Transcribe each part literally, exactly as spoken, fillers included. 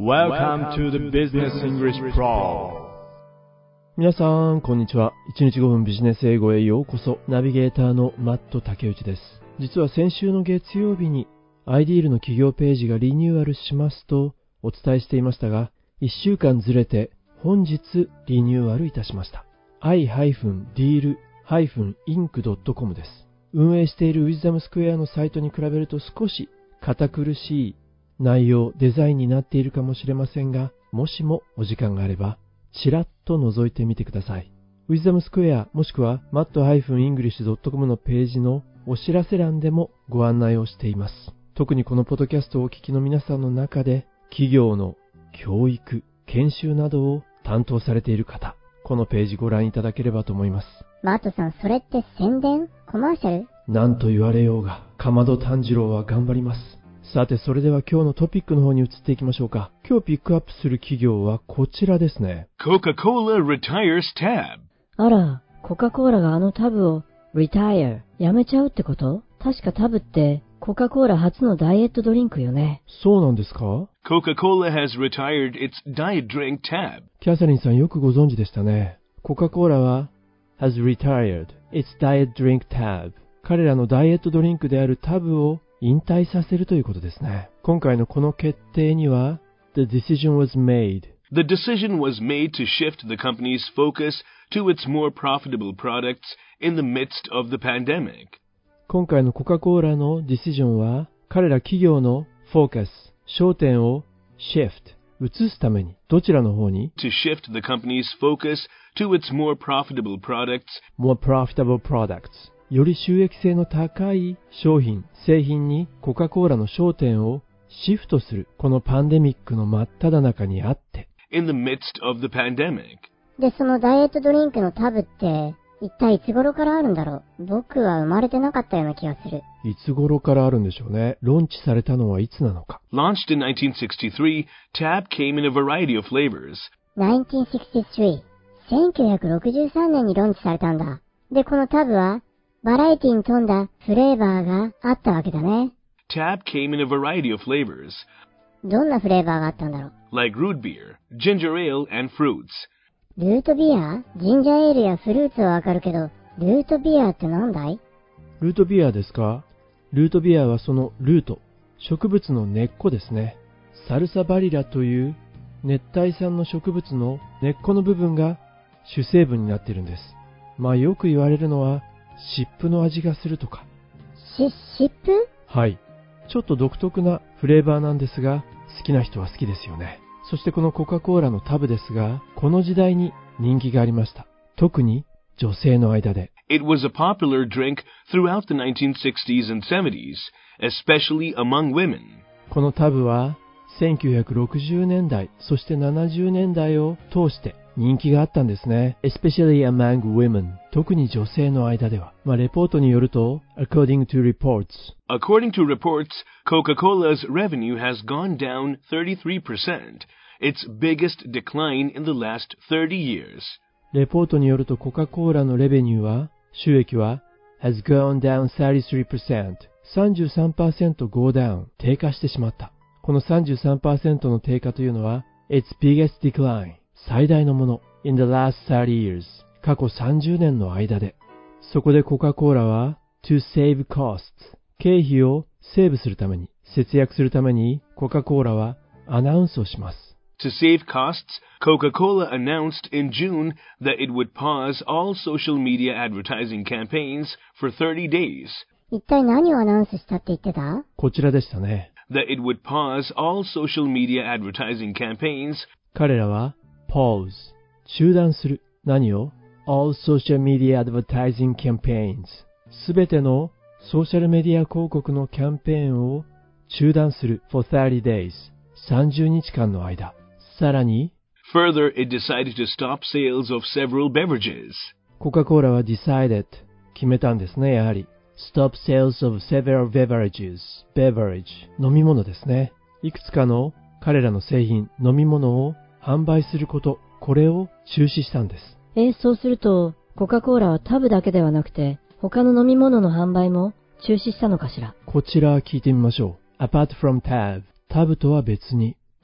Welcome to the Business English Pro。 皆さん、こんにちは。いちにちごふんビジネス英語へようこそ。ナビゲーターのマット竹内です。実は先週の月曜日に アイディーエル の企業ページがリニューアルしますとお伝えしていましたが、いっしゅうかんずれて本日リニューアルいたしました。アイディーエル インク ドットコム です。運営しているウィズダムスクエアのサイトに比べると少し堅苦しい内容、デザインになっているかもしれませんが、もしもお時間があれば、ちらっと覗いてみてください。ウィズダムスクエアもしくは マット イングリッシュ ドットコム のページのお知らせ欄でもご案内をしています。特にこのポッドキャストをお聞きの皆さんの中で、企業の教育、研修などを担当されている方、このページご覧いただければと思います。 マットさん、それって宣伝？コマーシャル？ なんと言われようが、かまど炭治郎は頑張ります。さて、それでは今日のトピックの方に移っていきましょうか。今日ピックアップする企業はこちらですね。 Coca-Cola retires tab。 あら、コカ・コーラがあのタブを retire やめちゃうってこと？確かタブってコカ・コーラ初のダイエットドリンクよね。 そうなんですか？ Coca-Cola has retired its diet drink tab。 キャサリンさんよくご存知でしたね。コカ・コーラは has retired its diet drink tab。 彼らのダイエットドリンクであるタブを引退させるということですね。今回のこの決定には The decision was made The decision was made to shift the company's focus to its more profitable products in the midst of the pandemic。 今回のコカ・コーラのディシジョンは彼ら企業のフォーカス、焦点を shift 移すためにどちらの方に To shift the company's focus to its more profitable products more profitable productsより収益性の高い商品、製品にコカ・コーラの焦点をシフトする、このパンデミックの真っ只中にあって。 in the midst of the pandemic。 で、そのダイエットドリンクのタブって、一体いつ頃からあるんだろう？僕は生まれてなかったような気がする。 いつ頃からあるんでしょうね。ローンチされたのはいつなのか。 Launched in nineteen sixty-three, Tab came in a variety of flavors。 ナインティーンシックスティースリー、せんきゅうひゃくろくじゅうさんねんにローンチされたんだ。で、このタブは、バラエティに富んだフレーバーがあったわけだね。 Tab came in a variety of flavors。 どんなフレーバーがあったんだろう？ like root beer, ginger ale, and fruits。 ルートビア？ジンジャーエールやフルーツはわかるけど、ルートビアってなんだい？ ルートビアですか？ルートビアはそのルート、植物の根っこですね。サルサバリラという熱帯産の植物の根っこの部分が主成分になっているんです。まあよく言われるのは湿布の味がするとか。 し、湿布？ はい。ちょっと独特なフレーバーなんですが、好きな人は好きですよね。そしてこのコカ・コーラのタブですが、この時代に人気がありました。特に女性の間で。 It was a popular drink throughout the nineteen sixties and seventies, especially among women。 このタブはせんきゅうひゃくろくじゅうねんだい、そしてななじゅうねんだいを通して人気があったんですね。especially among women。 特に女性の間では。まあ、レポートによると、according to reports。 According to reports, Coca-Cola's revenue has gone down thirty-three percent, its biggest decline in the last thirty years。 レポートによるとコカ・コーラのレベニューは、収益は has gone down thirty-three percent。 さんじゅうさんパーセント go down、 低下してしまった。この さんじゅうさんパーセント の低下というのは its biggest decline、最大のもの in the last thirty years、 過去さんじゅうねんの間で。そこでコカ・コーラは to save costs、 経費をセーブするために、節約するためにコカ・コーラはアナウンスをします。 To save costs, Coca-Cola announced in June that it would pause all social media advertising campaigns for thirty days。 一体何をアナウンスしたって言ってた？ こちらでしたね。 that it would pause all social media advertising campaigns。 彼らはpause、 中断する。何を？ all social media advertising campaigns、 すべてのソーシャルメディア広告のキャンペーンを中断する for thirty days、 さんじゅうにちかんの間。さらに Further, it decided to stop sales of several beverages。 コカ・コーラは decided、 決めたんですね。やはり stop sales of several beverages、 beverage、 飲み物ですね。いくつかの彼らの製品、飲み物を販売すること、これを中止したんです。 え、そうすると、コカ・コーラはタブだけではなくて、他の飲み物の販売も中止したのかしら。 こちら聞いてみましょう。apart from tab、タブとは別に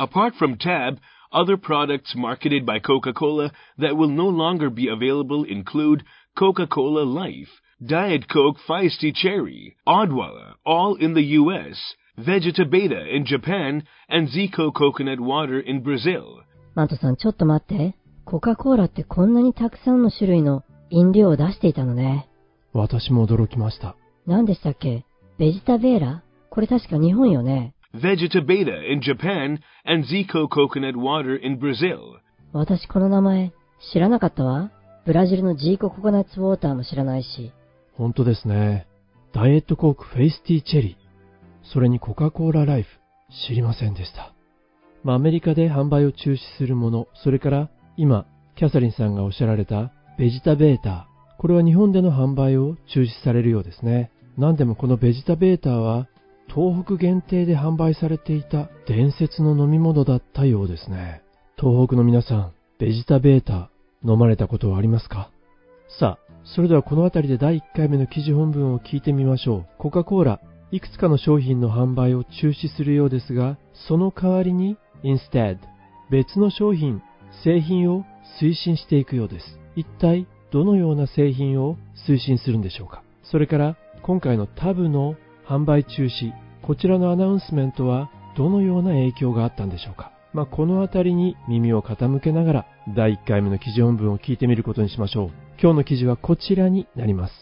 Apart from Tab, other products marketed by Coca-Cola that will no longer be available include Coca-Cola Life, Diet Coke Feisty Cherry, Odwalla, all in the U S, Vegeta Beta in Japan, and Zico Coconut Water in Brazil. マトさん、ちょっと待って。コカ・コーラってこんなにたくさんの種類の飲料を出していたのね。 私も驚きました。 何でしたっけ？ベジタベーラ？これ確か日本よね。 Vegeta Beta in Japan and Zico Coconut Water in Brazil. 私この名前知らなかったわ。ブラジルのジーコココナッツウォーターも知らないし。 本当ですね。ダイエットコークフェイスティーチェリー。それにコカ・コーラライフ。知りませんでした。まあ、アメリカで販売を中止するもの、それから今、キャサリンさんがおっしゃられたベジタベーター。これは日本での販売を中止されるようですね。何でもこのベジタベーターは東北限定で販売されていた伝説の飲み物だったようですね。東北の皆さん、ベジタベーター飲まれたことはありますか？さあ、それではこのあたりでだいいっかいめの記事本文を聞いてみましょう。コカ・コーラ、いくつかの商品の販売を中止するようですが、その代わりに instead 別の商品、製品を推進していくようです。一体どのような製品を推進するんでしょうか。それから今回のタブの販売中止、こちらのアナウンスメントはどのような影響があったんでしょうか。まあ、このあたりに耳を傾けながらだいいっかいめの記事本文を聞いてみることにしましょう。今日の記事はこちらになります。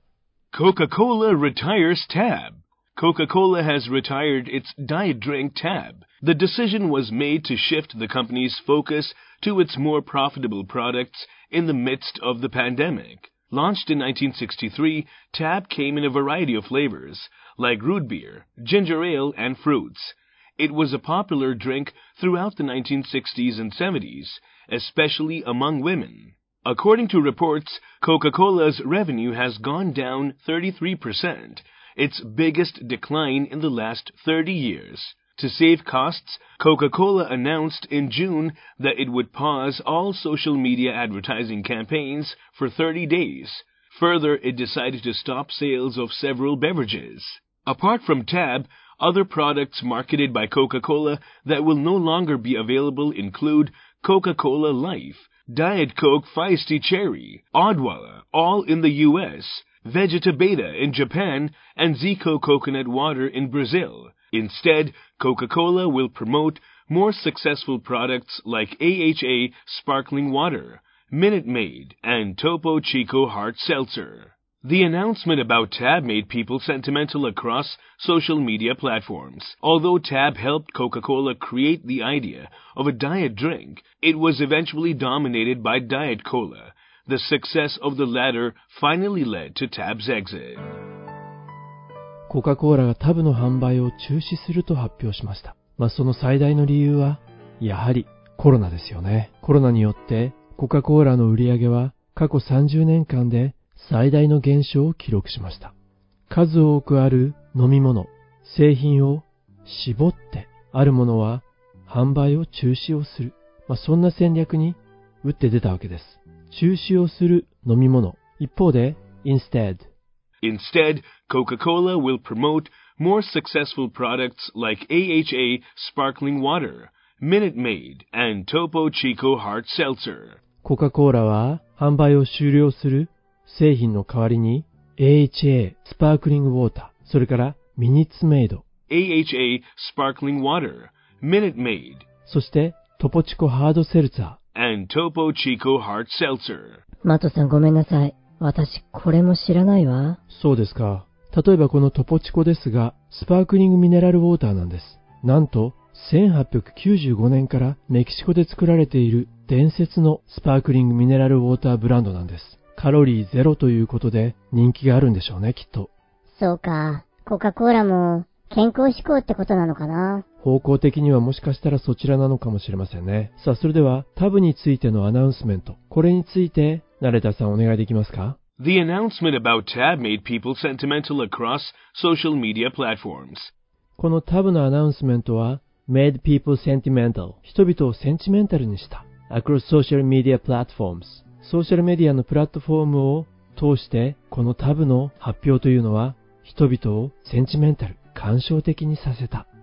Coca-Cola retires Tab. Coca-Cola has retired its diet drink Tab. The decision was made to shift the company's focus to its more profitable products in the midst of the pandemic. Launched in nineteen sixty-three, Tab came in a variety of flavors, like root beer, ginger ale, and fruits. It was a popular drink throughout the nineteen sixties and seventies, especially among women. According to reports, Coca-Cola's revenue has gone down thirty-three percent, its biggest decline in the last thirty years. To save costs, Coca-Cola announced in June that it would pause all social media advertising campaigns for thirty days. Further, it decided to stop sales of several beverages. Apart from Tab, other products marketed by Coca-Cola that will no longer be available include Coca-Cola Life, Diet Coke Feisty Cherry, Odwalla, all in the U S, Vegeta Beta in Japan, and Zico Coconut Water in Brazil. Instead, Coca-Cola will promote more successful products like A H A Sparkling Water, Minute Maid, and Topo Chico Hard Seltzer. The announcement about Tab made people sentimental across social media platforms. Although Tab helped Coca-Cola create the idea of a diet drink, it was eventually dominated by Diet Cola. The success of the latter finally led to Tab's exit. コカ・コーラがタブの販売を中止すると発表しました。まあ、その最大の理由は、やはりコロナですよね。コロナによってコカ・コーラの売り上げは過去さんじゅうねんかんで最大の減少を記録しました。数多くある飲み物、製品を絞ってあるものは販売を中止をする。まあ、そんな戦略に打って出たわけです。中止をする飲み物。一方で、instead. Instead, Coca-Cola will promote more successful products like A H A Sparkling Water, Minute Maid, and Topo Chico Hard Seltzer. コカ・コーラは販売を終了する製品の代わりに エーエイチエー スパークリングウォーター、それからミニッツメイド、 エーエイチエー Sparkling Water, Minute Maid, そしてトポチコハードセルツァー、 and Topo Chico Hard Seltzer. マトさんごめんなさい。私これも知らないわ。 そうですか。例えばこのトポチコですが、スパークリングミネラルウォーターなんです。なんとせんはっぴゃくきゅうじゅうごねんからメキシコで作られている伝説のスパークリングミネラルウォーターブランドなんです。カロリーゼロということで人気があるんでしょうね、きっと。 そうか。コカ・コーラも健康志向ってことなのかな。 方向的にはもしかしたらそちらなのかもしれませんね。さあ、それではタブについてのアナウンスメント。これについて、ナレーターさんお願いできますか？ The announcement about Tab made people sentimental across social media platforms. このタブのアナウンスメントは、made people sentimental。人々をセンチメンタルにした。across social media platforms。ソーシャルメディアのプラットフォームを通して、このタブの発表というのは、人々をセンチメンタル、感傷的にさせた。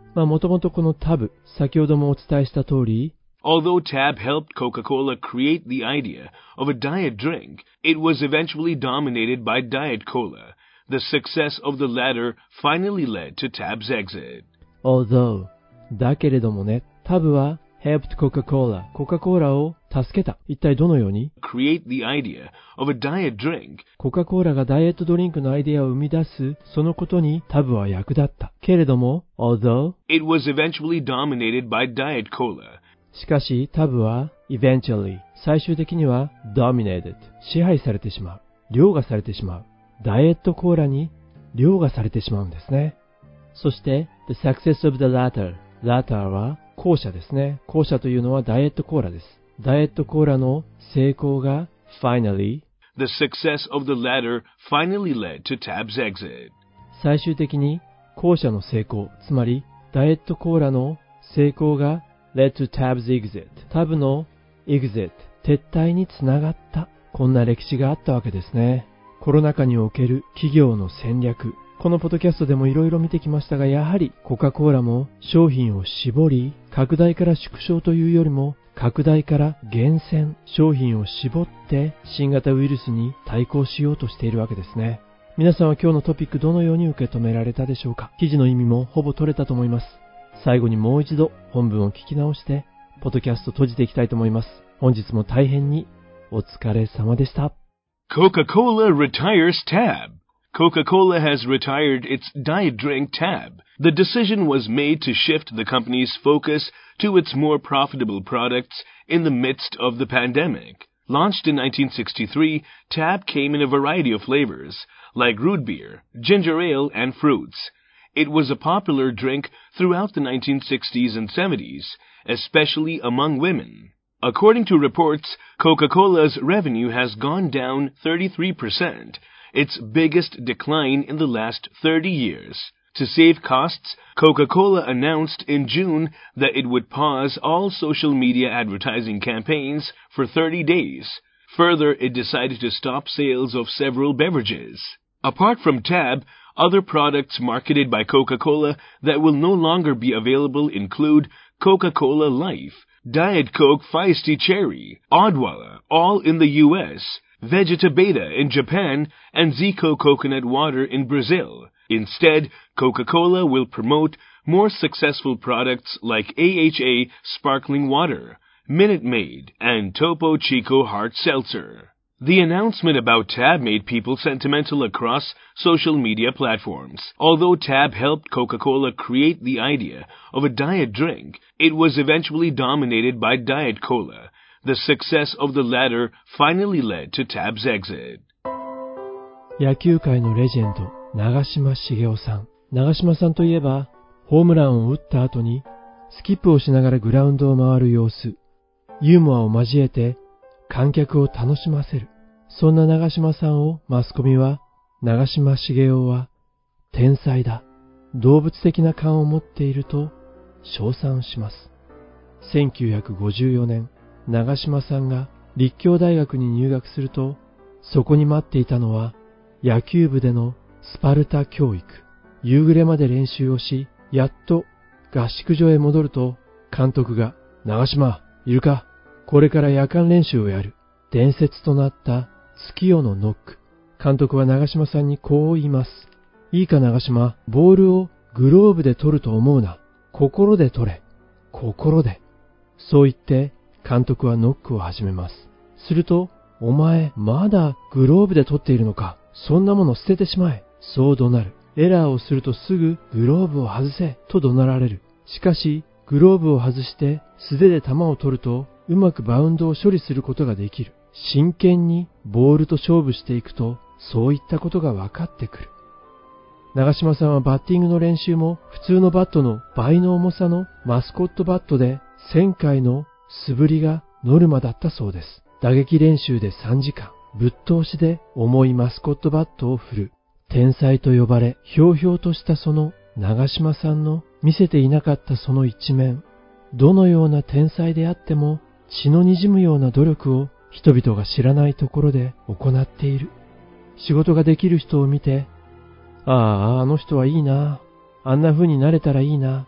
まあもともとこのタブ、先ほどもお伝えした通り、 Although Tab helped Coca-Cola create the idea of a diet drink, it was eventually dominated by Diet Cola. The success of the latter finally led to Tab's exit. Although だけれどもね、タブは helped Coca-Cola、コカ・コーラを助けた。一体どのように？ Create the idea of a diet drink. コカ・コーラがダイエットドリンクのアイデアを生み出す、そのことにタブは役立った。けれども、although it was eventually dominated by Diet Cola. しかし、タブは eventually 最終的には dominated 支配されてしまう。凌駕されてしまう。ダイエットコーラに凌駕されてしまうんですね。そして、the success of the latter latter は後者ですね。後者というのはダイエットコーラです。ダイエットコーラの成功が finally The success of the latter finally led to Tab's exit. 最終的に後者の成功、つまりダイエットコーラの成功が led to Tab's exit タブの exit 撤退につながった。こんな歴史があったわけですね。コロナ禍における企業の戦略。このポッドキャストでもいろいろ見てきましたが、やはりコカ・コーラも商品を絞り、拡大から縮小というよりも、拡大から厳選、商品を絞って新型ウイルスに対抗しようとしているわけですね。皆さんは今日のトピックどのように受け止められたでしょうか？記事の意味もほぼ取れたと思います。最後にもう一度本文を聞き直して、ポッドキャスト閉じていきたいと思います。本日も大変にお疲れ様でした。 Coca-Cola retires Tab. Coca-Cola has retired its diet drink Tab. The decision was made to shift the company's focus to its more profitable products in the midst of the pandemic. Launched in nineteen sixty-three, Tab came in a variety of flavors, like root beer, ginger ale, and fruits. It was a popular drink throughout the nineteen sixties and seventies, especially among women. According to reports, Coca-Cola's revenue has gone down thirty-three percent, its biggest decline in the last thirty years. To save costs, Coca-Cola announced in June that it would pause all social media advertising campaigns for thirty days. Further, it decided to stop sales of several beverages. Apart from Tab, other products marketed by Coca-Cola that will no longer be available include Coca-Cola Life, Diet Coke Feisty Cherry, Odwalla, all in the U S, Vegeta Beta in Japan, and Zico Coconut Water in Brazil. Instead, Coca-Cola will promote more successful products like A H A Sparkling Water, Minute Maid, and Topo Chico Hard Seltzer. The announcement about Tab made people sentimental across social media platforms. Although Tab helped Coca-Cola create the idea of a diet drink, it was eventually dominated by Diet Cola. The success of the latter finally led to Tab's exit. 野球界のレジェンド、長嶋茂雄さん。長嶋さんといえば、ホームランを打った後に、スキップをしながらグラウンドを回る様子、ユーモアを交えて、観客を楽しませる。そんな長嶋さんをマスコミは、長嶋茂雄は天才だ。動物的な勘を持っていると称賛します。せんきゅうひゃくごじゅうよねん、長嶋さんが立教大学に入学すると、そこに待っていたのは野球部でのスパルタ教育。夕暮れまで練習をし、やっと合宿所へ戻ると、監督が、長嶋、いるか？これから夜間練習をやる。伝説となった月夜のノック。監督は長嶋さんにこう言います。いいか長嶋、ボールをグローブで取ると思うな。心で取れ。心で。そう言って監督はノックを始めます。すると、お前まだグローブで取っているのか。そんなもの捨ててしまえ。そう怒鳴る。エラーをするとすぐグローブを外せと怒鳴られる。しかし、グローブを外して素手で球を取るとうまくバウンドを処理することができる。真剣にボールと勝負していくと、そういったことが分かってくる。長嶋さんはバッティングの練習も普通のバットの倍の重さのマスコットバットでせんかいの素振りがノルマだったそうです。打撃練習でさんじかん、ぶっ通しで重いマスコットバットを振る。天才と呼ばれ、ひょうひょうとしたその長嶋さんの見せていなかったその一面。どのような天才であっても血の滲むような努力を人々が知らないところで行っている。仕事ができる人を見て、ああ、あの人はいいな。あんな風になれたらいいな。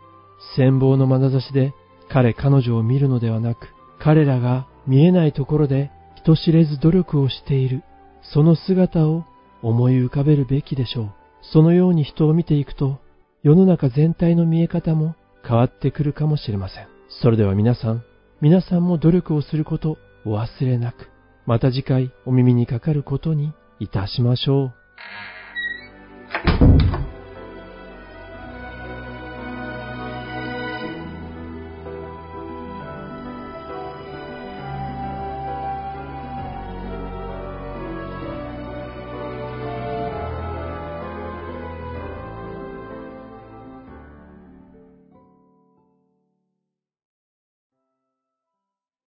羨望の眼差しで彼彼女を見るのではなく、彼らが見えないところで人知れず努力をしている、その姿を思い浮かべるべきでしょう。そのように人を見ていくと、世の中全体の見え方も変わってくるかもしれません。それでは皆さん、皆さんも努力をすることお忘れなく、また次回お耳にかかることにいたしましょう。